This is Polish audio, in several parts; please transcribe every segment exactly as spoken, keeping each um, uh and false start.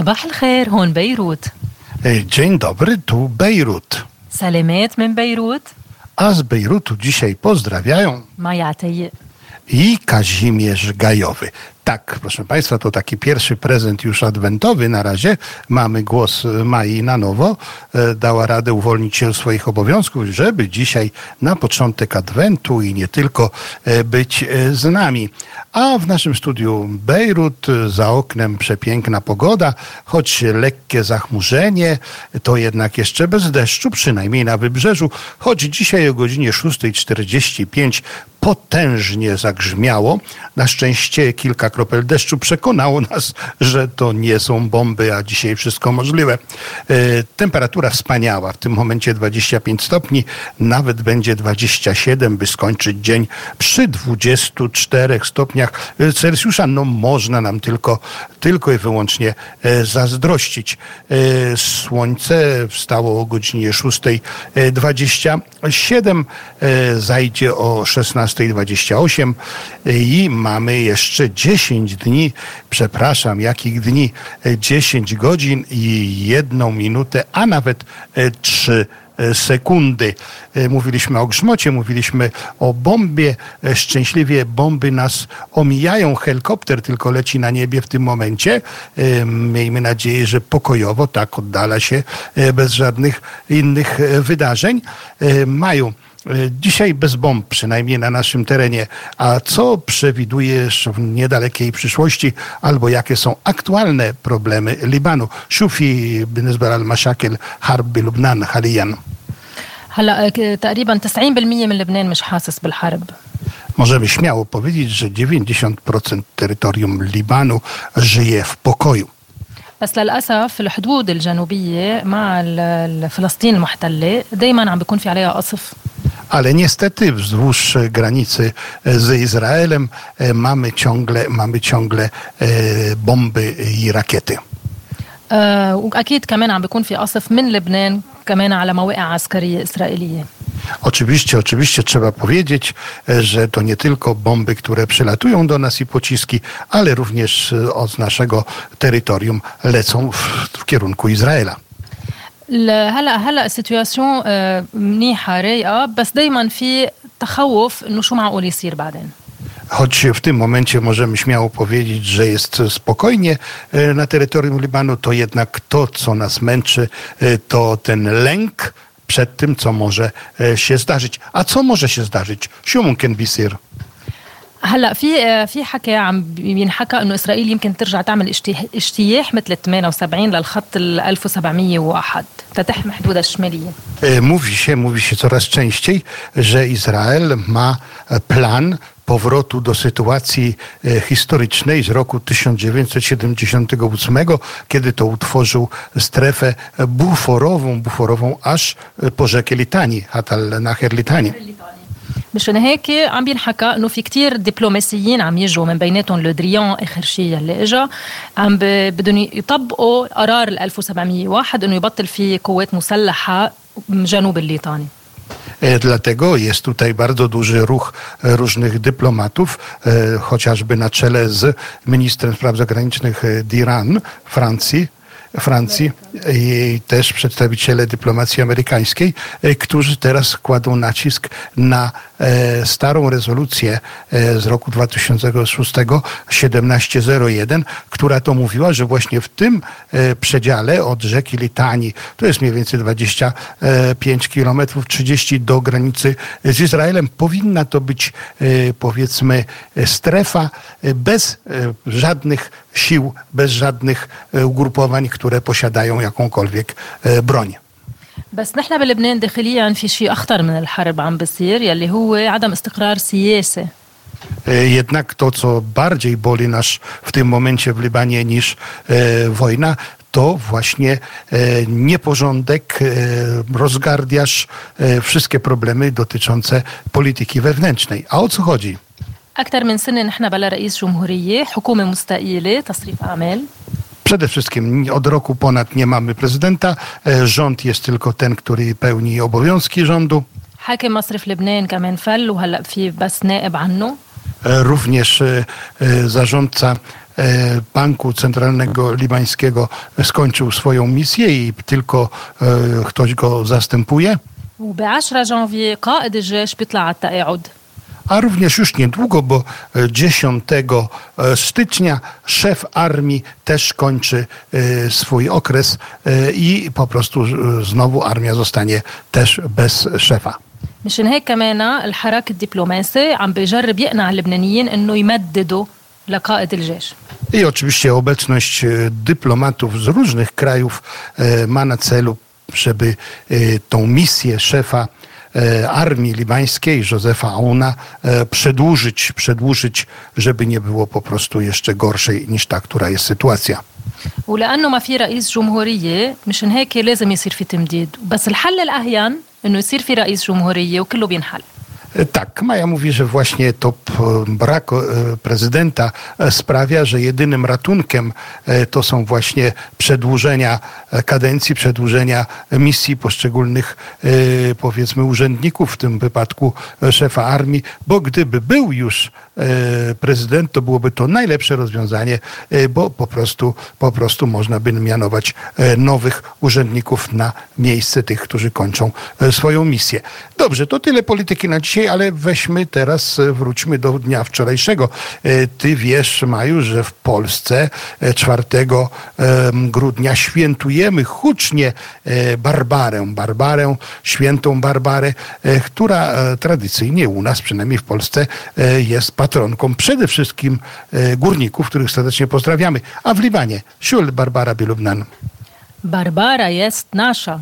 صباح الخير، هون بيروت. Dzień dobry, tu Bejrut. سلامات من بيروت. A z Bejrutu dzisiaj pozdrawiają Maja Tejje i Kazimierz Gajowy. Tak, proszę Państwa, to taki pierwszy prezent już adwentowy na razie. Mamy głos Mai na nowo. E, dała radę uwolnić się z swoich obowiązków, żeby dzisiaj na początek adwentu i nie tylko e, być e, z nami. A w naszym studiu Bejrut, e, za oknem przepiękna pogoda, choć lekkie zachmurzenie, to jednak jeszcze bez deszczu, przynajmniej na wybrzeżu, choć dzisiaj o godzinie szósta czterdzieści pięć potężnie zagrzmiało. Na szczęście kilka kropel deszczu przekonało nas, że to nie są bomby, a dzisiaj wszystko możliwe. E, temperatura wspaniała, w tym momencie dwadzieścia pięć stopni, nawet będzie dwadzieścia siedem, by skończyć dzień przy dwudziestu czterech stopniach Celsjusza. No można nam tylko, tylko i wyłącznie e, zazdrościć. E, słońce wstało o godzinie szósta dwadzieścia siedem, e, zajdzie o szesnasta dwadzieścia osiem i mamy jeszcze dziesięć dni, przepraszam, jakich dni, dziesięć godzin i jedną minutę, a nawet trzy sekundy. Mówiliśmy o grzmocie, mówiliśmy o bombie. Szczęśliwie bomby nas omijają. Helikopter tylko leci na niebie w tym momencie. Miejmy nadzieję, że pokojowo, tak oddala się bez żadnych innych wydarzeń. Mają dzisiaj bez bomb, przynajmniej na naszym terenie. A co przewidujesz w niedalekiej przyszłości, albo jakie są aktualne problemy Libanu? Shufi بالنسبة للمشاكل حرب بلبنان حاليا. هلا تقريبا تسعين بالمية من لبنان مش حاسس بالحرب. Możemy śmiało powiedzieć, że dziewięćdziesiąt procent terytorium Libanu żyje w pokoju. بس للأسف الحدود الجنوبية مع فلسطين المحتلة دايما عم بيكون في عليها قصف. Ale niestety wzdłuż granicy z Izraelem mamy ciągle, mamy ciągle bomby i rakiety. وأكيد كمان عم بيكون في قصف من لبنان كمان على مواقع عسكرية إسرائيلية. Oczywiście, oczywiście trzeba powiedzieć, że to nie tylko bomby, które przylatują do nas i pociski, ale również od naszego terytorium lecą w, w kierunku Izraela. هلا هلا السيتوياسيون منيحة رايقة بس دايما في تخوف إنه شو معقول يصير بعدين. Choć w tym momencie możemy śmiało powiedzieć, że jest spokojnie na terytorium Libanu, to jednak to, co nas męczy, to ten lęk przed tym, co może się zdarzyć. A co może się zdarzyć? شو ممكن بيصير؟ هلا في في حكي عم بينحكى انه اسرائيل يمكن ترجع تعمل اجتياح مثل ثمانية وسبعين للخط ال ألف وسبعمية وواحد تتحمي حدودها الشماليه. Mówi się, mówi się coraz częściej, że Izrael ma plan powrotu do sytuacji historycznej z roku tysiąc dziewięćset siedemdziesiątego ósmego, kiedy to utworzył strefę buforową, buforową aż po rzekę Litani, Hatal Naher Litani. مشان هيك عم بينحكى انه في كتير دبلوماسيين عم يجوا من بيناتهم لودريان اخر شيء اللي اجا عم بدهم يطبقوا قرار ال ألف وسبعمية وواحد انه يبطل في قوات مسلحه جنوب الليطاني. Dlatego jest tutaj bardzo duży ruch różnych dyplomatów, chociażby na czele z ministrem spraw zagranicznych d'Iran, Francji, Francji i też przedstawiciele dyplomacji amerykańskiej, którzy teraz kładą nacisk na starą rezolucję z roku dwa tysiące szóstego, siedemnaście zero jeden, która to mówiła, że właśnie w tym przedziale od rzeki Litani, to jest mniej więcej dwadzieścia pięć kilometrów, trzydzieści do granicy z Izraelem, powinna to być, powiedzmy, strefa bez żadnych sił, bez żadnych ugrupowań, które posiadają jakąkolwiek broń. بس نحن بلبنان داخليا في شيء أخطر من الحرب عم بصير يلي هو عدم استقرار سياسي. Jednak to, co bardziej boli nas w tym momencie w Libanie niż e, wojna, to właśnie e, nieporządek, e, rozgardiaż, e, wszystkie problemy dotyczące polityki wewnętrznej. A o co chodzi? أكثر من سنة نحن بلا رئيس جمهورية، حكومة مستقيلة، تصريف أعمال. Przede wszystkim od roku ponad nie mamy prezydenta. Rząd jest tylko ten, który pełni obowiązki rządu. حاكم مصرف لبنان كمان فل وهلا في بس نائب عنه. Również zarządca Banku Centralnego Libańskiego skończył swoją misję i tylko ktoś go zastępuje. وب10 جانفي قائد الجيش بيطلع على التقاعد. A również już niedługo, bo dziesiątego stycznia szef armii też kończy swój okres i po prostu znowu armia zostanie też bez szefa. مشان هيك كمان الحراك الدبلوماسي عم بيجرب يقنع اللبنانيين انه يمددوا لقائد الجيش. I oczywiście obecność dyplomatów z różnych krajów ma na celu, żeby tą misję szefa armii libańskiej, Józefa Aouna, przedłużyć, przedłużyć, żeby nie było po prostu jeszcze gorszej niż ta, która jest sytuacja. ولأنه ما في رئيس جمهورية مشان هيك لازم يصير في تمديد، بس الحل الأهين إنه يصير في رئيس جمهورية وكله بينحل. Tak, Maja mówi, że właśnie to brak prezydenta sprawia, że jedynym ratunkiem to są właśnie przedłużenia kadencji, przedłużenia misji poszczególnych, powiedzmy, urzędników, w tym wypadku szefa armii, bo gdyby był już prezydent, to byłoby to najlepsze rozwiązanie, bo po prostu, po prostu można by mianować nowych urzędników na miejsce tych, którzy kończą swoją misję. Dobrze, to tyle polityki na dzisiaj, ale weźmy teraz, wróćmy do dnia wczorajszego. Ty wiesz, Maju, że w Polsce czwartego grudnia świętujemy hucznie Barbarę. Barbarę, świętą Barbarę, która tradycyjnie u nas, przynajmniej w Polsce, jest patronką przede wszystkim górników, których serdecznie pozdrawiamy. A w Libanie, Shul Barbara Bilubnan. Barbara jest nasza.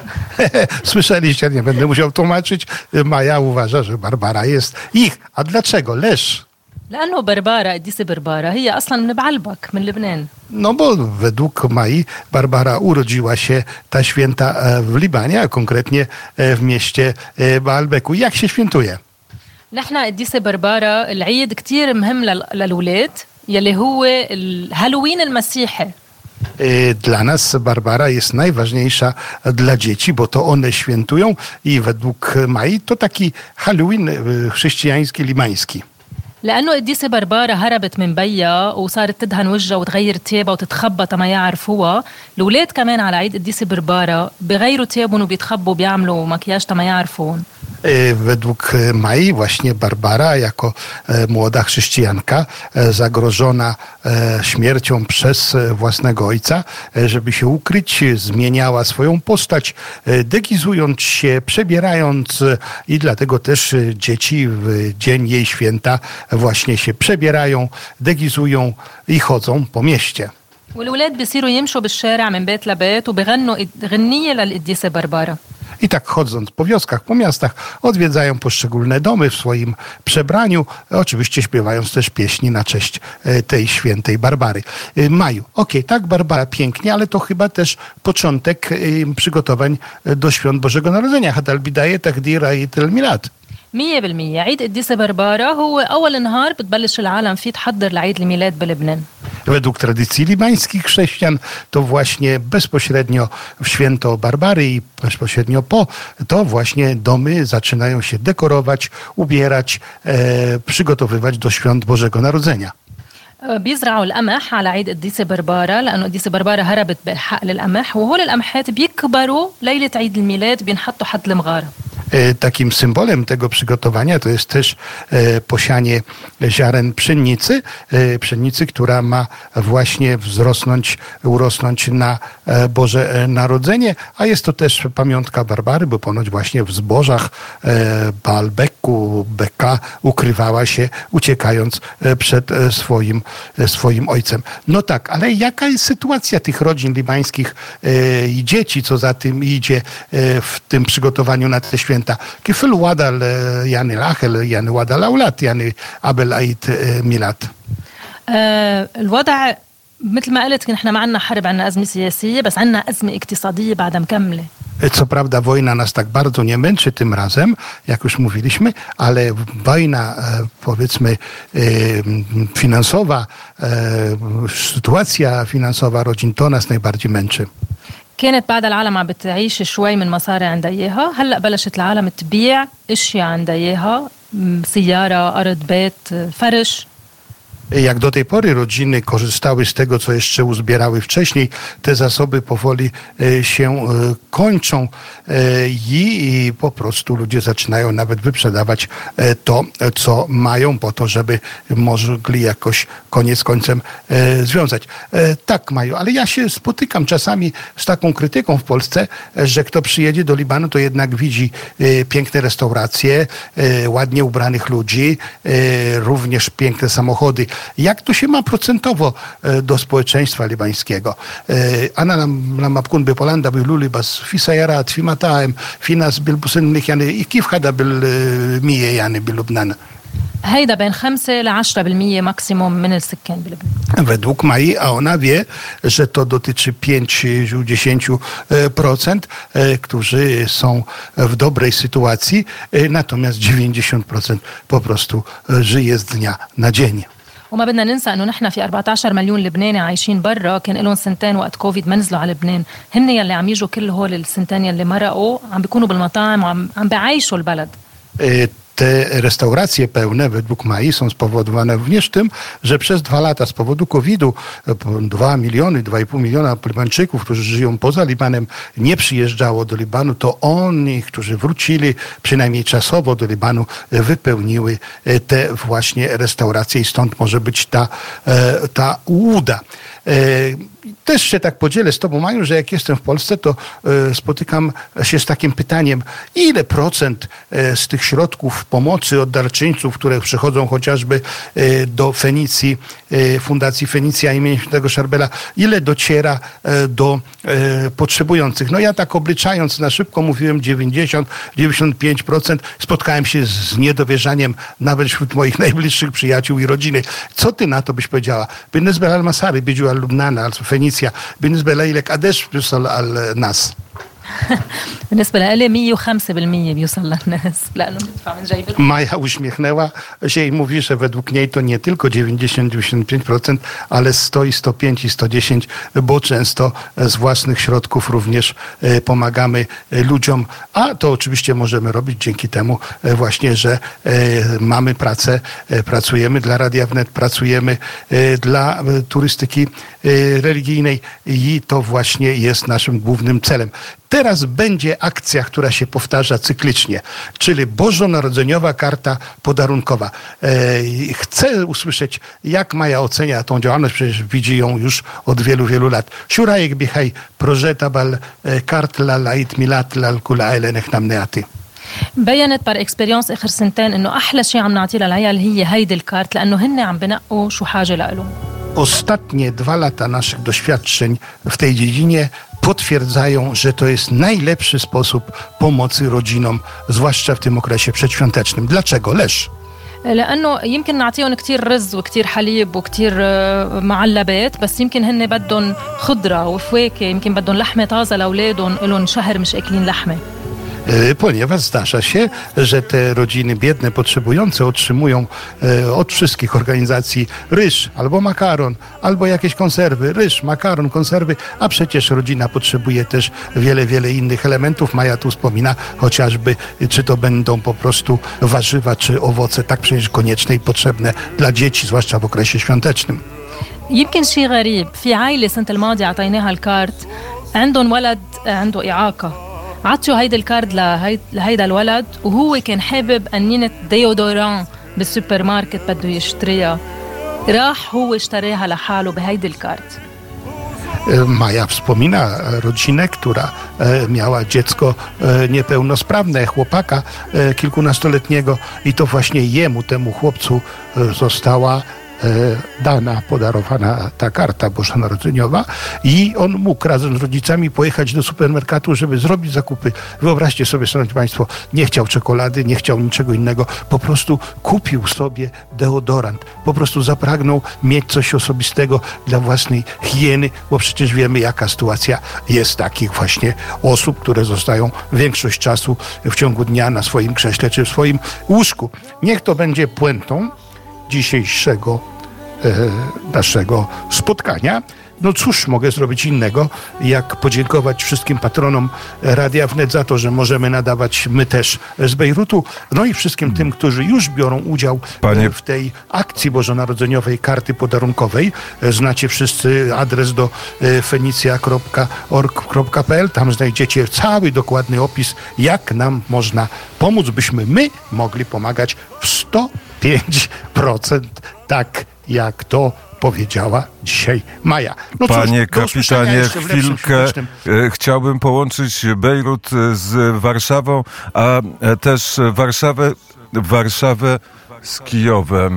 Słyszeliście, nie będę musiał tłumaczyć. Maja uważa, że Barbara jest ich. A dlaczego? Leż. لأنه بربارة قديسة بربارة هي أصلا من بعلبك من لبنان. No bo według Mai Barbara urodziła się ta święta w Libanie, a konkretnie w mieście Baalbeku. Jak się świętuje? نحن قديسة بربارة العيد كتير مهم للولاد يلي هو الهالوين المسيحي. Dla nas Barbara jest najważniejsza dla dzieci, bo to one świętują i według Mai to taki Halloween chrześcijański, libański. لأنه قديسة بربارة هربت من بيها وصارت تدهن وجهها وتغير تيابها وتتخبى ما يعرفوها، الأولاد كمان على عيد قديسة بربارة بغيروا تيابهم وبيتخبوا بيعملوا مكياج ما يعرفون. Według Mai właśnie Barbara jako młoda chrześcijanka zagrożona śmiercią przez własnego ojca, żeby się ukryć, zmieniała swoją postać, degizując się, przebierając i dlatego też dzieci w dzień jej święta właśnie się przebierają, degizują i chodzą po mieście. والولاد بيصيروا يمشوا بالشارع من بيت لبيت وبغنوا غنية للقديسة بربارة. I tak chodząc po wioskach, po miastach, odwiedzają poszczególne domy w swoim przebraniu, oczywiście śpiewając też pieśni na cześć tej świętej Barbary. Maju, okej, okay, tak, Barbara, pięknie, ale to chyba też początek przygotowań do Świąt Bożego Narodzenia. Hadal bidaje takdir Eid al-Milad. مية بالمية عيد قديسة بربارة هو أول نهار بتبلش العالم فيه تحضر لعيد الميلاد بلبنان. Według tradycji libańskich chrześcijan to właśnie bezpośrednio w święto Barbary i bezpośrednio po to właśnie domy zaczynają się dekorować, ubierać, e, przygotowywać do Świąt Bożego Narodzenia. بيزرعوا القمح على عيد قديسة بربارة لأنه قديسة بربارة هربت بحقل القمح وهول القمحات بيكبروا ليلة عيد الميلاد بينحطوا حد المغارة. Takim symbolem tego przygotowania to jest też posianie ziaren pszenicy, pszenicy, która ma właśnie wzrosnąć, urosnąć na Boże Narodzenie, a jest to też pamiątka Barbary, bo ponoć właśnie w zbożach Baalbeku, Beka ukrywała się, uciekając przed swoim, swoim ojcem. No tak, ale jaka jest sytuacja tych rodzin libańskich i dzieci, co za tym idzie w tym przygotowaniu na te święta? كيف الوضع يعني العقل يعني وضع الأولاد يعني قبل عيد ميلاد؟ آه الوضع مثل ما قلت نحن ما عندنا حرب، عندنا أزمة سياسية بس عندنا أزمة اقتصادية بعدها مكملة. Co prawda wojna nas tak bardzo nie męczy tym razem, jak już mówiliśmy, ale wojna, powiedzmy, finansowa, sytuacja finansowa rodzin to nas najbardziej męczy. كانت بعد العالم عم بتعيش شوي من مصاري عندها إياها، هلأ بلشت العالم تبيع اشياء عندها إياها سيارة أرض بيت فرش. Jak do tej pory rodziny korzystały z tego, co jeszcze uzbierały wcześniej, te zasoby powoli się kończą i po prostu ludzie zaczynają nawet wyprzedawać to, co mają, po to, żeby mogli jakoś koniec końcem związać. Tak, Maju, ale ja się spotykam czasami z taką krytyką w Polsce, że kto przyjedzie do Libanu, to jednak widzi piękne restauracje, ładnie ubranych ludzi, również piękne samochody. Jak to się ma procentowo do społeczeństwa libańskiego? Ana lama tkun bi Polanda biqulu bas fi sajarat, fi mataem, fi nas bil-businnych, yani kif ħada bil-mija yani bil-Lubnan? هيدا بين خمسة لعشرة بالمية ماكسيموم من السكان بلبنان. Według Mai, a ona wie, że to dotyczy pięć do dziesięciu procent, którzy są w dobrej sytuacji, natomiast dziewięćdziesiąt procent po prostu żyje z dnia na dzień. وما بدنا ننسى انه نحن في أربعة عشر مليون لبناني عايشين برا، كان لهم سنتين وقت كوفيد ما نزلوا على لبنان، هن يلي عم يجوا كل هول السنتين يلي مرقوا عم بيكونوا بالمطاعم وعم عم بيعيشوا البلد. Te restauracje pełne według Mai są spowodowane również tym, że przez dwa lata z powodu kowida dwa miliony, dwa i pół miliona Libańczyków, którzy żyją poza Libanem, nie przyjeżdżało do Libanu, to oni, którzy wrócili przynajmniej czasowo do Libanu, wypełniły te właśnie restauracje i stąd może być ta, ta łuda. Też się tak podzielę z tobą, Maju, że jak jestem w Polsce, to spotykam się z takim pytaniem, ile procent z tych środków pomocy od darczyńców, które przychodzą chociażby do Fenicji, Fundacji Fenicja imienia Świętego Szarbela, ile dociera do potrzebujących? No ja tak obliczając na szybko mówiłem dziewięćdziesiąt do dziewięćdziesięciu pięciu procent. Spotkałem się z niedowierzaniem nawet wśród moich najbliższych przyjaciół i rodziny. Co ty na to byś powiedziała? بالنسبة للمصاري بيجوا على لبنان على فينيسيا بالنسبة لك قديش بيوصل على الناس؟ بالنسبة لي مية وخمسة بالمية بيوصل للناس لأنه بندفع من جيبنا. Maja uśmiechnęła się i mówi, że według niej to nie tylko dziewięćdziesiąt do dziewięćdziesięciu pięciu procent, ale sto i sto pięć i sto dziesięć, bo często z własnych środków również pomagamy ludziom, a to oczywiście możemy robić dzięki temu właśnie, że mamy pracę, pracujemy dla Radia Wnet, pracujemy dla turystyki religijnej i to właśnie jest naszym głównym celem. Teraz będzie akcja, która się powtarza cyklicznie, czyli bożonarodzeniowa karta podarunkowa. E, chcę usłyszeć, jak Maja ocenia tą działalność, przecież widzi ją już od wielu, wielu lat. Siurajek bihaj projeta bal kart la lait milat lal kula elenech nam neaty. بينت بار اكسبيرينس اخر سنتين انه احلى شيء عم نعطيه للعيال هي هيدي الكارت لانه هن عم بنقوا شو حاجه لهم. Ostatnie dwa lata naszych doświadczeń w tej dziedzinie potwierdzają, że to jest najlepszy sposób pomocy rodzinom, zwłaszcza w tym okresie przedświątecznym. Dlaczego? Leż. لأنه يمكن نعطيهم كتير رز وكتير حليب وكتير معلبات، بس يمكن هن بدهم خضرة وفواكه، يمكن بدهم لحمة طازة لأولادهم إلهم شهر مش أكلين لحمة. Ponieważ zdarza się, że te rodziny biedne, potrzebujące otrzymują od wszystkich organizacji ryż albo makaron, albo jakieś konserwy, ryż, makaron, konserwy, a przecież rodzina potrzebuje też wiele, wiele innych elementów. Maja tu wspomina chociażby, czy to będą po prostu warzywa, czy owoce, tak przecież konieczne i potrzebne dla dzieci, zwłaszcza w okresie świątecznym. يمكن شيء غريب في عائلة سنة الماضية عطيناها الكارت عندهم ولد عنده إعاقة عطوا هيدا الكارد لهي... لهيدا الولد وهو كان حابب أنينة ديودوران بالسوبر ماركت بده يشتريها راح هو اشتراها لحاله بهيدا الكارد. Maja wspomina rodzinę, która miała dziecko niepełnosprawne, chłopaka kilkunastoletniego i to właśnie jemu, temu chłopcu została dana, podarowana ta karta bożonarodzeniowa i on mógł razem z rodzicami pojechać do supermarketu, żeby zrobić zakupy. Wyobraźcie sobie, szanowni państwo, nie chciał czekolady, nie chciał niczego innego, po prostu kupił sobie deodorant, po prostu zapragnął mieć coś osobistego dla własnej higieny, bo przecież wiemy, jaka sytuacja jest takich właśnie osób, które zostają większość czasu w ciągu dnia na swoim krześle czy w swoim łóżku. Niech to będzie puentą dzisiejszego e, naszego spotkania. no cóż mogę zrobić innego, jak podziękować wszystkim patronom Radia Wnet za to, że możemy nadawać my też z Bejrutu, no i wszystkim tym, którzy już biorą udział Panie... w tej akcji bożonarodzeniowej karty podarunkowej. Znacie wszyscy adres do fenicja kropka org kropka p l. Tam znajdziecie cały dokładny opis, jak nam można pomóc, byśmy my mogli pomagać w sto pięć procent, tak jak to powiedziała dzisiaj Maja. No Panie cóż, kapitanie, chwilkę chciałbym połączyć Bejrut z Warszawą, a też Warszawę, Warszawę z Kijowem.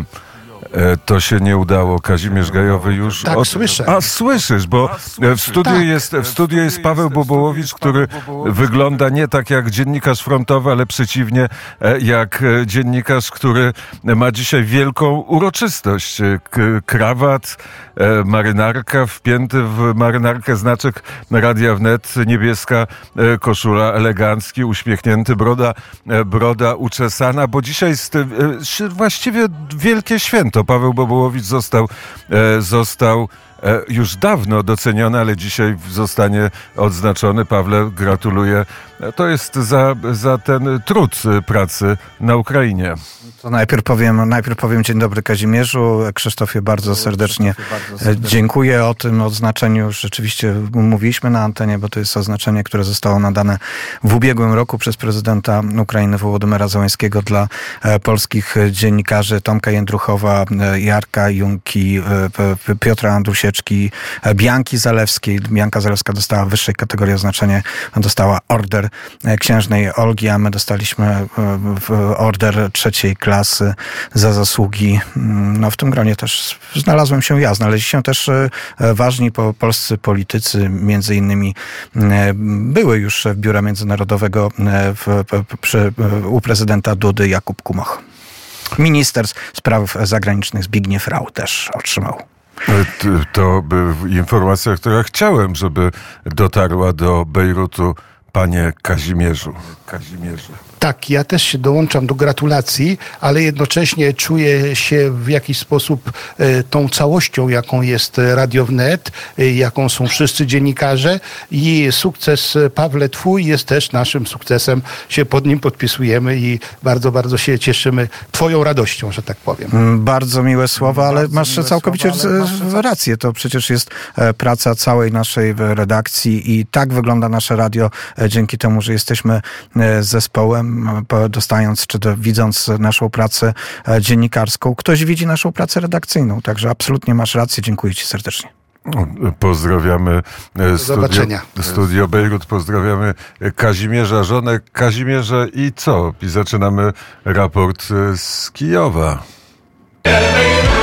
To się nie udało. Kazimierz Gajowy już... Tak, od... słyszę. A, słyszysz, bo w studiu, tak. jest, w studiu jest Paweł Bobołowicz, który wygląda nie tak jak dziennikarz frontowy, ale przeciwnie, jak dziennikarz, który ma dzisiaj wielką uroczystość. Krawat, marynarka, wpięty w marynarkę znaczek Radia Wnet, niebieska koszula, elegancki, uśmiechnięty, broda, broda uczesana, bo dzisiaj jest właściwie wielkie święto. Paweł Bobołowicz został, e, został e, już dawno doceniony, ale dzisiaj zostanie odznaczony. Pawle, gratuluję. To jest za, za ten trud pracy na Ukrainie. To najpierw powiem, najpierw powiem dzień dobry Kazimierzu. Krzysztofie, bardzo serdecznie dziękuję. O tym odznaczeniu rzeczywiście mówiliśmy na antenie, bo to jest oznaczenie, które zostało nadane w ubiegłym roku przez prezydenta Ukrainy Wołodymyra Zełenskiego dla polskich dziennikarzy Tomka Jędruchowa, Jarka Junki, Piotra Andrusieczki, Bianki Zalewskiej. Bianka Zalewska dostała wyższej kategorii oznaczenie, dostała order księżnej Olgi, a my dostaliśmy order trzeciej klasy za zasługi. No w tym gronie też znalazłem się ja. Znaleźli się też ważni polscy politycy, między innymi były już szef Biura Międzynarodowego w, przy, u prezydenta Dudy Jakub Kumoch. Minister spraw zagranicznych Zbigniew Rau też otrzymał. To informacja, która chciałem, żeby dotarła do Bejrutu. Panie Kazimierzu. Kazimierzu. Tak, ja też się dołączam do gratulacji, ale jednocześnie czuję się w jakiś sposób e, tą całością, jaką jest Radio Wnet, e, jaką są wszyscy dziennikarze i sukces, Pawle, twój jest też naszym sukcesem. Się pod nim podpisujemy i bardzo, bardzo się cieszymy twoją radością, że tak powiem. Bardzo miłe słowa, ale masz całkowicie słowa, ale masz... rację. To przecież jest praca całej naszej redakcji i tak wygląda nasze radio dzięki temu, że jesteśmy zespołem, dostając czy to, widząc naszą pracę dziennikarską. Ktoś widzi naszą pracę redakcyjną, także absolutnie masz rację. Dziękuję ci serdecznie. Pozdrawiamy Do studio, zobaczenia. studio Bejrut, pozdrawiamy Kazimierza, żonę Kazimierza i co? I zaczynamy raport z Kijowa.